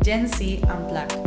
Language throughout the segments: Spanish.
Gen Z Unplugged.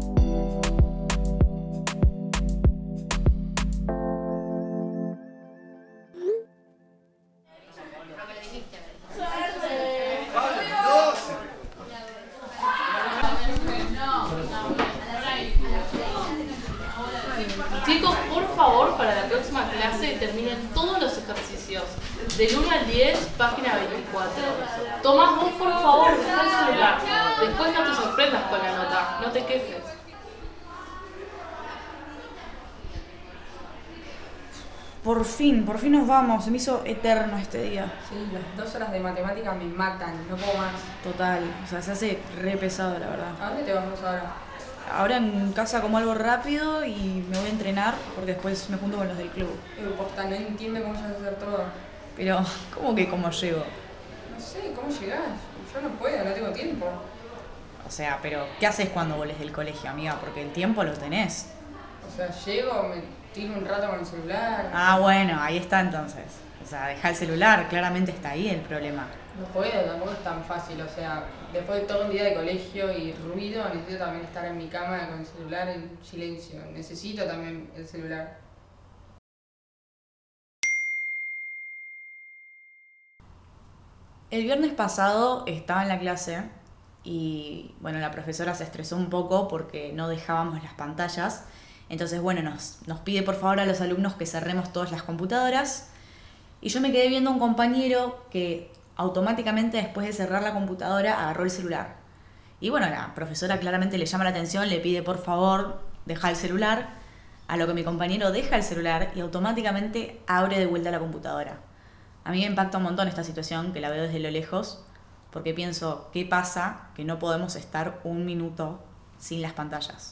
Chicos, por favor, para la próxima clase terminen todos los ejercicios. Del 1 al 10, página 24. Tomás, vos por favor, deja el celular. Después no te sorprendas con la nota, no te quejes. Por fin nos vamos. Se me hizo eterno este día. Sí, las 2 horas de matemática me matan, no puedo más. Total, o sea, se hace re pesado, la verdad. ¿A dónde te vas vos ahora? Ahora en casa como algo rápido y me voy a entrenar porque después me junto con los del club. Posta, no entiendo cómo llegas a hacer todo. Pero, ¿cómo que cómo llego? No sé, ¿cómo llegás? Yo no puedo, no tengo tiempo. O sea, pero ¿qué haces cuando volés del colegio, amiga? Porque el tiempo lo tenés. O sea, llego, me tiro un rato con el celular. Ah, bueno, ahí está entonces. O sea, deja el celular, claramente está ahí el problema. No puedo, tampoco es tan fácil. O sea, después de todo un día de colegio y ruido, necesito también estar en mi cama con el celular en silencio. Necesito también el celular. El viernes pasado estaba en la clase y, bueno, la profesora se estresó un poco porque no dejábamos las pantallas. Entonces, bueno, nos pide por favor a los alumnos que cerremos todas las computadoras. Y yo me quedé viendo a un compañero que automáticamente después de cerrar la computadora agarró el celular. Y bueno, la profesora claramente le llama la atención, le pide por favor deja el celular, a lo que mi compañero deja el celular y automáticamente abre de vuelta la computadora. A mí me impacta un montón esta situación, que la veo desde lo lejos, porque pienso, ¿qué pasa que no podemos estar un minuto sin las pantallas?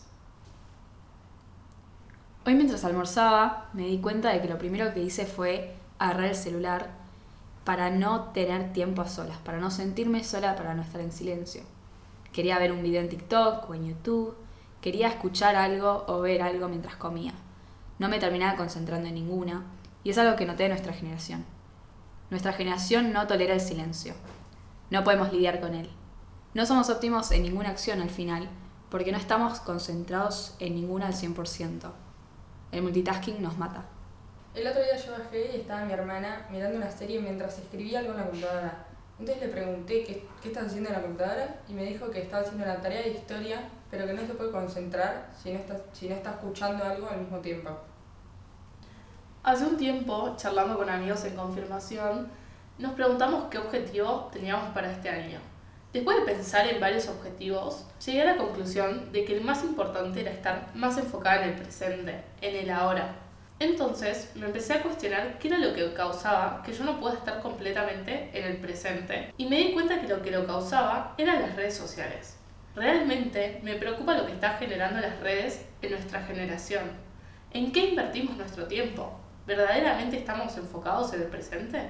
Hoy mientras almorzaba me di cuenta de que lo primero que hice fue agarrar el celular para no tener tiempo a solas, para no sentirme sola, para no estar en silencio. Quería ver un video en TikTok o en YouTube, quería escuchar algo o ver algo mientras comía. No me terminaba concentrando en ninguna, y es algo que noté de nuestra generación. Nuestra generación no tolera el silencio. No podemos lidiar con él. No somos óptimos en ninguna acción al final, porque no estamos concentrados en ninguna al 100%. El multitasking nos mata. El otro día yo bajé y estaba mi hermana mirando una serie mientras escribía algo en la computadora. Entonces le pregunté qué estás haciendo en la computadora y me dijo que estaba haciendo la tarea de historia, pero que no se puede concentrar si no está escuchando algo al mismo tiempo. Hace un tiempo, charlando con amigos en confirmación, nos preguntamos qué objetivo teníamos para este año. Después de pensar en varios objetivos, llegué a la conclusión de que el más importante era estar más enfocada en el presente, en el ahora. Entonces me empecé a cuestionar qué era lo que causaba que yo no pueda estar completamente en el presente y me di cuenta que lo causaba eran las redes sociales. Realmente me preocupa lo que está generando las redes en nuestra generación. ¿En qué invertimos nuestro tiempo? ¿Verdaderamente estamos enfocados en el presente?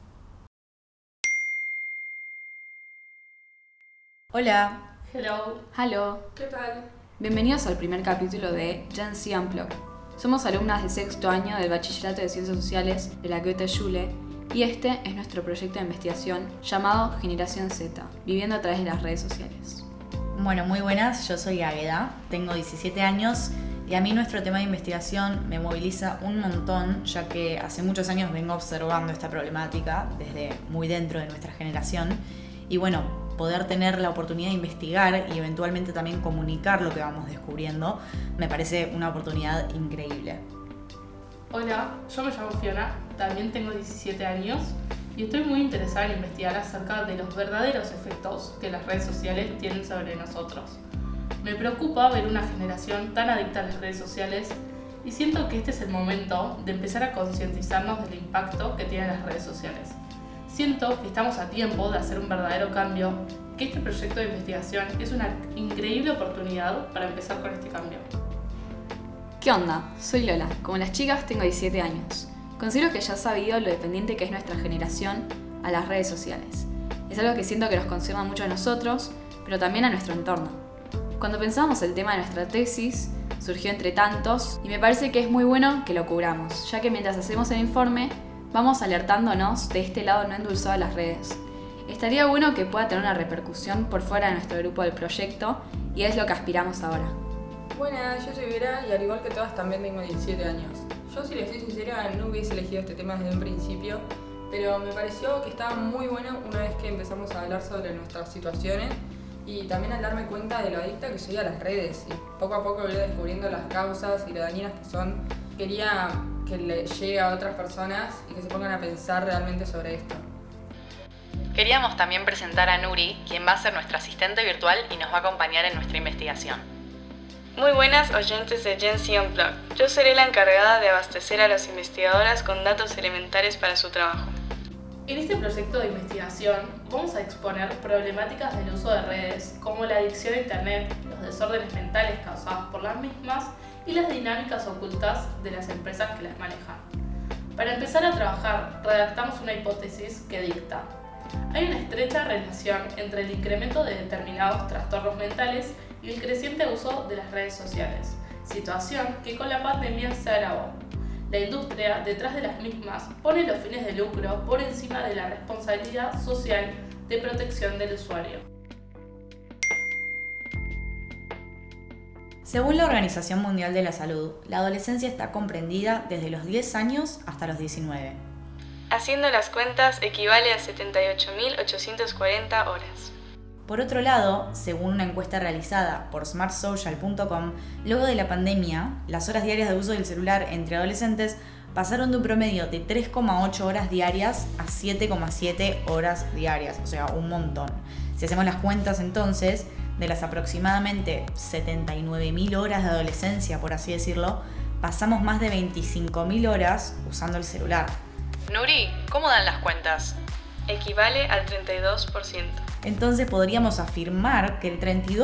Hola. Hello. Hello. ¿Qué tal? Bienvenidos al primer capítulo de Gen Z Unplugged. Somos alumnas de sexto año del Bachillerato de Ciencias Sociales de la Goethe-Schule y este es nuestro proyecto de investigación llamado Generación Z, viviendo a través de las redes sociales. Bueno, muy buenas, yo soy Águeda, tengo 17 años y a mí nuestro tema de investigación me moviliza un montón, ya que hace muchos años vengo observando esta problemática desde muy dentro de nuestra generación y bueno, poder tener la oportunidad de investigar y eventualmente también comunicar lo que vamos descubriendo me parece una oportunidad increíble. Hola, yo me llamo Fiona, también tengo 17 años y estoy muy interesada en investigar acerca de los verdaderos efectos que las redes sociales tienen sobre nosotros. Me preocupa ver una generación tan adicta a las redes sociales y siento que este es el momento de empezar a concientizarnos del impacto que tienen las redes sociales. Siento que estamos a tiempo de hacer un verdadero cambio, que este proyecto de investigación es una increíble oportunidad para empezar con este cambio. ¿Qué onda? Soy Lola. Como las chicas, tengo 17 años. Considero que ya has sabido lo dependiente que es nuestra generación a las redes sociales. Es algo que siento que nos concierne mucho a nosotros, pero también a nuestro entorno. Cuando pensábamos el tema de nuestra tesis, surgió entre tantos y me parece que es muy bueno que lo cubramos, ya que mientras hacemos el informe, vamos alertándonos de este lado no endulzado de las redes. estaría bueno que pueda tener una repercusión por fuera de nuestro grupo del proyecto y es lo que aspiramos ahora. Buenas, yo soy Vera y al igual que todas también tengo 17 años. Yo, si les soy sincera, no hubiese elegido este tema desde un principio, pero me pareció que estaba muy bueno una vez que empezamos a hablar sobre nuestras situaciones y también al darme cuenta de lo adicta que soy a las redes y poco a poco ir descubriendo las causas y lo dañinas que son. Quería que le llegue a otras personas y que se pongan a pensar realmente sobre esto. Queríamos también presentar a Nuri, quien va a ser nuestra asistente virtual y nos va a acompañar en nuestra investigación. Muy buenas oyentes de Gen Z Unplugged. Yo seré la encargada de abastecer a las investigadoras con datos elementales para su trabajo. En este proyecto de investigación vamos a exponer problemáticas del uso de redes, como la adicción a Internet, los desórdenes mentales causados por las mismas y las dinámicas ocultas de las empresas que las manejan. Para empezar a trabajar, redactamos una hipótesis que dicta: hay una estrecha relación entre el incremento de determinados trastornos mentales y el creciente uso de las redes sociales, situación que con la pandemia se agravó. La industria detrás de las mismas pone los fines de lucro por encima de la responsabilidad social de protección del usuario. Según la Organización Mundial de la Salud, la adolescencia está comprendida desde los 10 años hasta los 19. Haciendo las cuentas, equivale a 78.840 horas. Por otro lado, según una encuesta realizada por smartsocial.com, luego de la pandemia, las horas diarias de uso del celular entre adolescentes pasaron de un promedio de 3,8 horas diarias a 7,7 horas diarias, o sea, un montón. Si hacemos las cuentas entonces, de las aproximadamente 79.000 horas de adolescencia, por así decirlo, pasamos más de 25.000 horas usando el celular. Nuri, ¿cómo dan las cuentas? Equivale al 32%. Entonces podríamos afirmar que el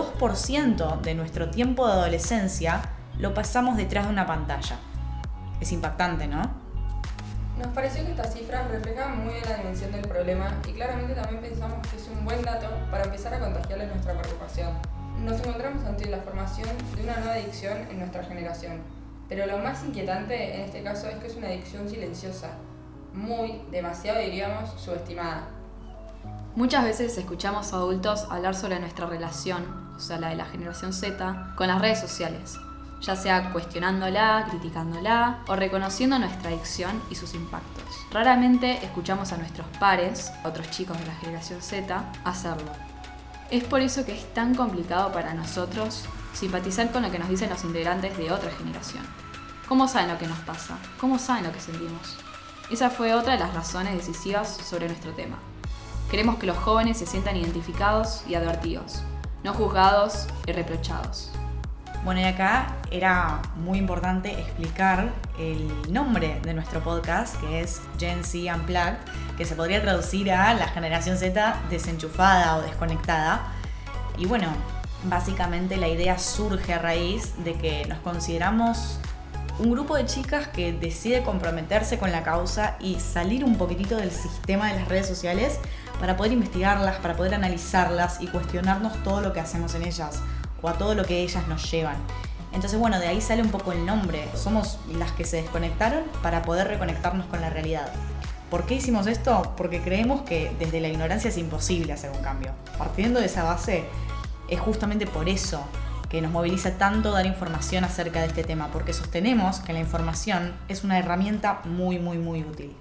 32% de nuestro tiempo de adolescencia lo pasamos detrás de una pantalla. Es impactante, ¿no? Nos pareció que estas cifras reflejan muy bien la dimensión del problema y claramente también pensamos que es un buen dato para empezar a contagiarle nuestra preocupación. Nos encontramos ante la formación de una nueva adicción en nuestra generación, pero lo más inquietante en este caso es que es una adicción silenciosa, demasiado diríamos, subestimada. Muchas veces escuchamos a adultos hablar sobre nuestra relación, o sea, la de la generación Z, con las redes sociales, ya sea cuestionándola, criticándola o reconociendo nuestra adicción y sus impactos. Raramente escuchamos a nuestros pares, otros chicos de la generación Z, hacerlo. Es por eso que es tan complicado para nosotros simpatizar con lo que nos dicen los integrantes de otra generación. ¿Cómo saben lo que nos pasa? ¿Cómo saben lo que sentimos? Esa fue otra de las razones decisivas sobre nuestro tema. Queremos que los jóvenes se sientan identificados y advertidos, no juzgados y reprochados. Bueno, y acá era muy importante explicar el nombre de nuestro podcast, que es Gen Z Unplugged, que se podría traducir a la generación Z desenchufada o desconectada. Y bueno, básicamente la idea surge a raíz de que nos consideramos un grupo de chicas que decide comprometerse con la causa y salir un poquitito del sistema de las redes sociales para poder investigarlas, para poder analizarlas y cuestionarnos todo lo que hacemos en ellas o a todo lo que ellas nos llevan. Entonces, bueno, de ahí sale un poco el nombre. Somos las que se desconectaron para poder reconectarnos con la realidad. ¿Por qué hicimos esto? Porque creemos que desde la ignorancia es imposible hacer un cambio. Partiendo de esa base, es justamente por eso que nos moviliza tanto dar información acerca de este tema, porque sostenemos que la información es una herramienta muy útil.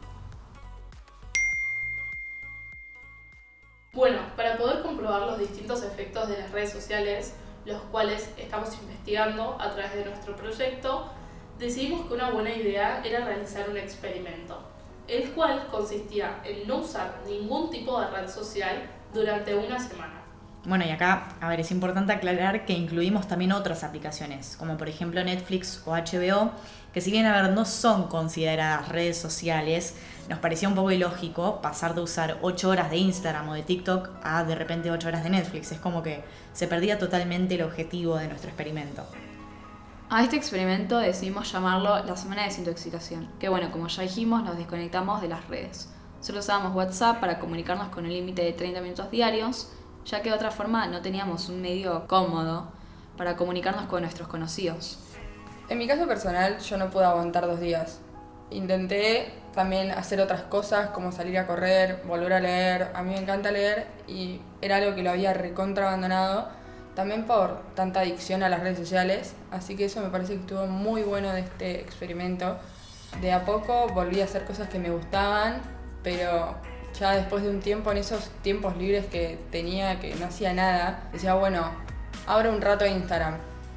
Bueno, para poder comprobar los distintos efectos de las redes sociales, los cuales estamos investigando a través de nuestro proyecto, decidimos que una buena idea era realizar un experimento, el cual consistía en no usar ningún tipo de red social durante una semana. Bueno, y acá, es importante aclarar que incluimos también otras aplicaciones, como por ejemplo Netflix o HBO, que si bien no son consideradas redes sociales, nos parecía un poco ilógico pasar de usar 8 horas de Instagram o de TikTok a de repente 8 horas de Netflix. Es como que se perdía totalmente el objetivo de nuestro experimento. A este experimento decidimos llamarlo la semana de desintoxicación, que bueno, como ya dijimos, nos desconectamos de las redes. Solo usábamos WhatsApp para comunicarnos con un límite de 30 minutos diarios, ya que de otra forma no teníamos un medio cómodo para comunicarnos con nuestros conocidos. En mi caso personal, yo no pude aguantar 2 días. Intenté también hacer otras cosas como salir a correr, volver a leer. A mí me encanta leer y era algo que lo había recontra abandonado, también por tanta adicción a las redes sociales, así que eso me parece que estuvo muy bueno de este experimento. De a poco volví a hacer cosas que me gustaban, pero ya después de un tiempo, en esos tiempos libres que tenía, que no hacía nada, decía, bueno, abro un rato Instagram.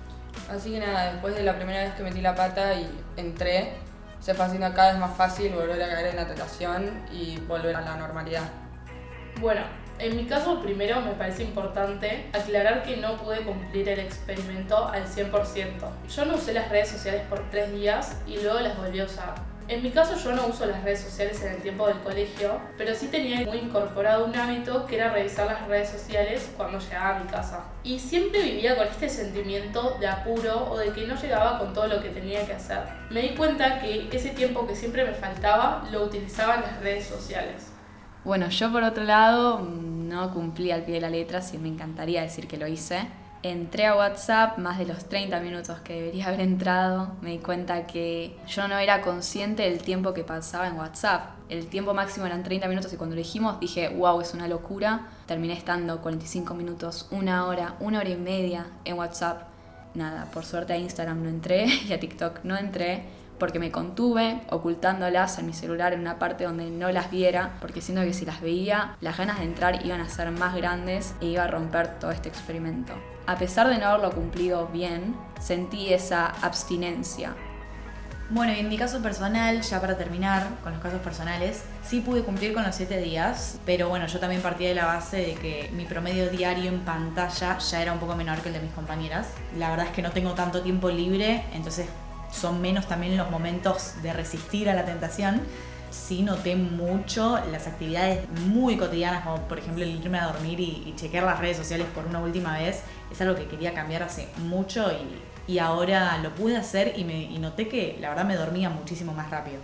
Así que nada, después de la primera vez que metí la pata y entré, se fue haciendo cada vez más fácil volver a caer en la tentación y volver a la normalidad. Bueno, en mi caso primero me parece importante aclarar que no pude cumplir el experimento al 100%. Yo no usé las redes sociales por 3 días y luego las volví a usar. En mi caso yo no uso las redes sociales en el tiempo del colegio, pero sí tenía muy incorporado un hábito que era revisar las redes sociales cuando llegaba a mi casa. Y siempre vivía con este sentimiento de apuro o de que no llegaba con todo lo que tenía que hacer. Me di cuenta que ese tiempo que siempre me faltaba lo utilizaba en las redes sociales. Bueno, yo por otro lado no cumplí al pie de la letra, sí me encantaría decir que lo hice. Entré a WhatsApp más de los 30 minutos que debería haber entrado. Me di cuenta que yo no era consciente del tiempo que pasaba en WhatsApp. El tiempo máximo eran 30 minutos y cuando lo dijimos dije, wow, es una locura. Terminé estando 45 minutos, 1 hora, 1 hora y media en WhatsApp. Nada, por suerte a Instagram no entré y a TikTok no entré porque me contuve ocultándolas en mi celular en una parte donde no las viera, porque siento que si las veía, las ganas de entrar iban a ser más grandes e iba a romper todo este experimento. A pesar de no haberlo cumplido bien, sentí esa abstinencia. Bueno, y en mi caso personal, ya para terminar con los casos personales, sí pude cumplir con los 7 días, pero bueno, yo también partí de la base de que mi promedio diario en pantalla ya era un poco menor que el de mis compañeras. La verdad es que no tengo tanto tiempo libre, entonces son menos también los momentos de resistir a la tentación. Sí noté mucho las actividades muy cotidianas, como por ejemplo el irme a dormir y chequear las redes sociales por una última vez. Es algo que quería cambiar hace mucho y ahora lo pude hacer y noté que la verdad me dormía muchísimo más rápido.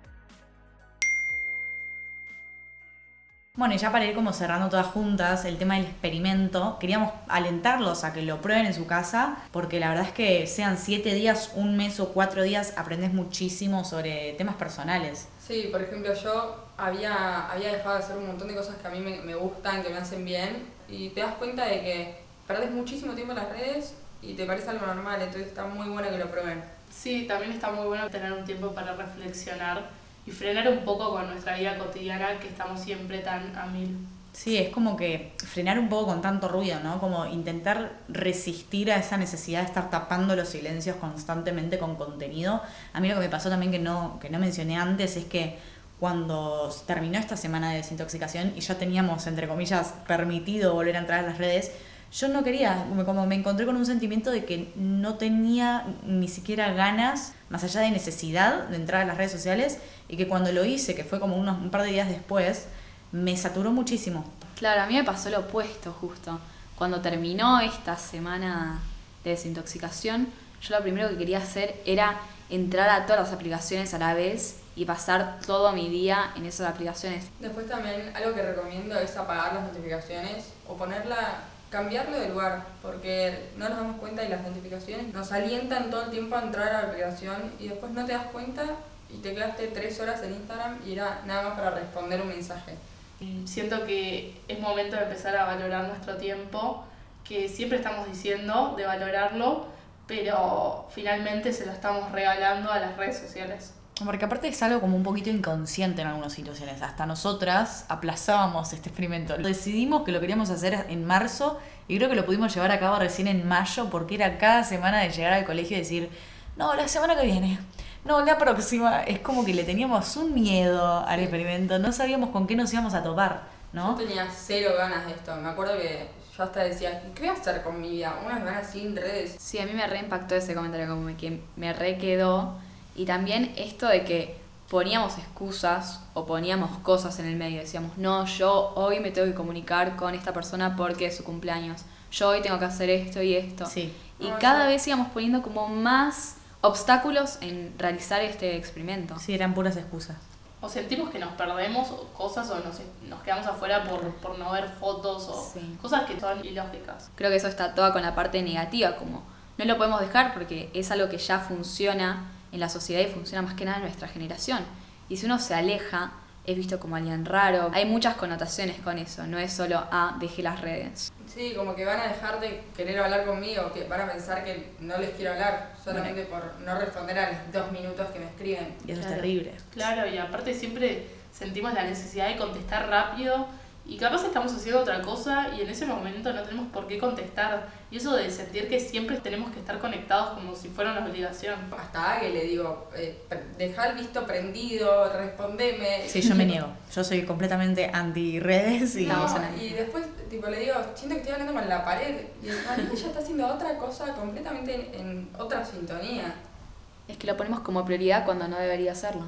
Bueno, y ya para ir como cerrando todas juntas el tema del experimento, queríamos alentarlos a que lo prueben en su casa, porque la verdad es que sean 7 días, 1 mes o 4 días, aprendes muchísimo sobre temas personales. Sí, por ejemplo, yo había dejado de hacer un montón de cosas que a mí me gustan, que me hacen bien, y te das cuenta de que perdes muchísimo tiempo en las redes y te parece algo normal, entonces está muy bueno que lo prueben. Sí, también está muy bueno tener un tiempo para reflexionar y frenar un poco con nuestra vida cotidiana, que estamos siempre tan a mil. Sí, es como que frenar un poco con tanto ruido, ¿no? Como intentar resistir a esa necesidad de estar tapando los silencios constantemente con contenido. A mí lo que me pasó también que no mencioné antes es que cuando terminó esta semana de desintoxicación y ya teníamos, entre comillas, permitido volver a entrar a las redes, yo no quería, como me encontré con un sentimiento de que no tenía ni siquiera ganas, más allá de necesidad, de entrar a las redes sociales, y que cuando lo hice, que fue como un par de días después, me saturó muchísimo. Claro, a mí me pasó lo opuesto justo. Cuando terminó esta semana de desintoxicación, yo lo primero que quería hacer era entrar a todas las aplicaciones a la vez y pasar todo mi día en esas aplicaciones. Después también algo que recomiendo es apagar las notificaciones o cambiarlo de lugar, porque no nos damos cuenta y las notificaciones nos alientan todo el tiempo a entrar a la aplicación y después no te das cuenta y te quedaste 3 horas en Instagram y era nada más para responder un mensaje. Siento que es momento de empezar a valorar nuestro tiempo, que siempre estamos diciendo de valorarlo, pero finalmente se lo estamos regalando a las redes sociales. Porque aparte es algo como un poquito inconsciente en algunas situaciones. Hasta nosotras aplazábamos este experimento. Decidimos que lo queríamos hacer en marzo y creo que lo pudimos llevar a cabo recién en mayo, porque era cada semana de llegar al colegio y decir, no, la semana que viene, no, la próxima. Es como que le teníamos un miedo al experimento, no sabíamos con qué nos íbamos a topar, ¿no? Yo tenía 0 ganas de esto. Me acuerdo que yo hasta decía, ¿qué voy a hacer con mi vida? Una semana sin redes. Sí, a mí me reimpactó ese comentario, como que me quedó. Y también esto de que poníamos excusas o poníamos cosas en el medio. Decíamos, no, yo hoy me tengo que comunicar con esta persona porque es su cumpleaños. Yo hoy tengo que hacer esto y esto. Sí. Y cada vez íbamos poniendo como más obstáculos en realizar este experimento. Sí, eran puras excusas. O sentimos que nos perdemos cosas o nos quedamos afuera por no ver fotos o cosas que son ilógicas. Creo que eso está toda con la parte negativa, como no lo podemos dejar porque es algo que ya funciona en la sociedad y funciona más que nada en nuestra generación. Y si uno se aleja, es visto como alguien raro. Hay muchas connotaciones con eso, no es solo, dejé las redes. Sí, como que van a dejar de querer hablar conmigo, que van a pensar que no les quiero hablar, solamente por no responder a los 2 minutos que me escriben. Y eso Claro. es terrible. Claro, y aparte siempre sentimos la necesidad de contestar rápido y capaz estamos haciendo otra cosa y en ese momento no tenemos por qué contestar. Y eso de sentir que siempre tenemos que estar conectados como si fuera una obligación. Hasta a que le digo, dejá el visto prendido, respondeme. Sí, yo me niego. Yo soy completamente anti-redes y... No, en la y después tipo le digo, siento que estoy hablando con la pared. Y el marido ya está haciendo otra cosa completamente en otra sintonía. Es que lo ponemos como prioridad cuando no debería hacerlo.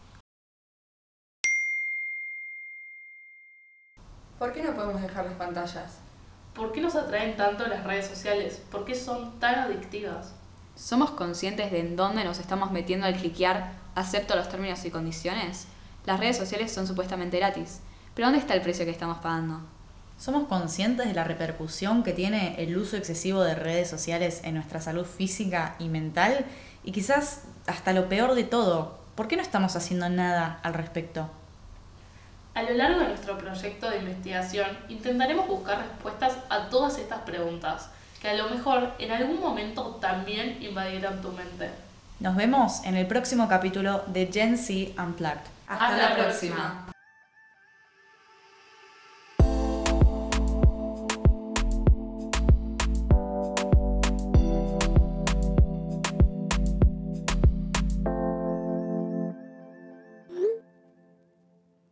¿Por qué no podemos dejar las pantallas? ¿Por qué nos atraen tanto las redes sociales? ¿Por qué son tan adictivas? ¿Somos conscientes de en dónde nos estamos metiendo al cliquear acepto los términos y condiciones? Las redes sociales son supuestamente gratis, pero ¿dónde está el precio que estamos pagando? ¿Somos conscientes de la repercusión que tiene el uso excesivo de redes sociales en nuestra salud física y mental? Y quizás hasta lo peor de todo, ¿por qué no estamos haciendo nada al respecto? A lo largo de nuestro proyecto de investigación intentaremos buscar respuestas a todas estas preguntas, que a lo mejor en algún momento también invadieron tu mente. Nos vemos en el próximo capítulo de Gen Z Unplugged. Hasta la próxima.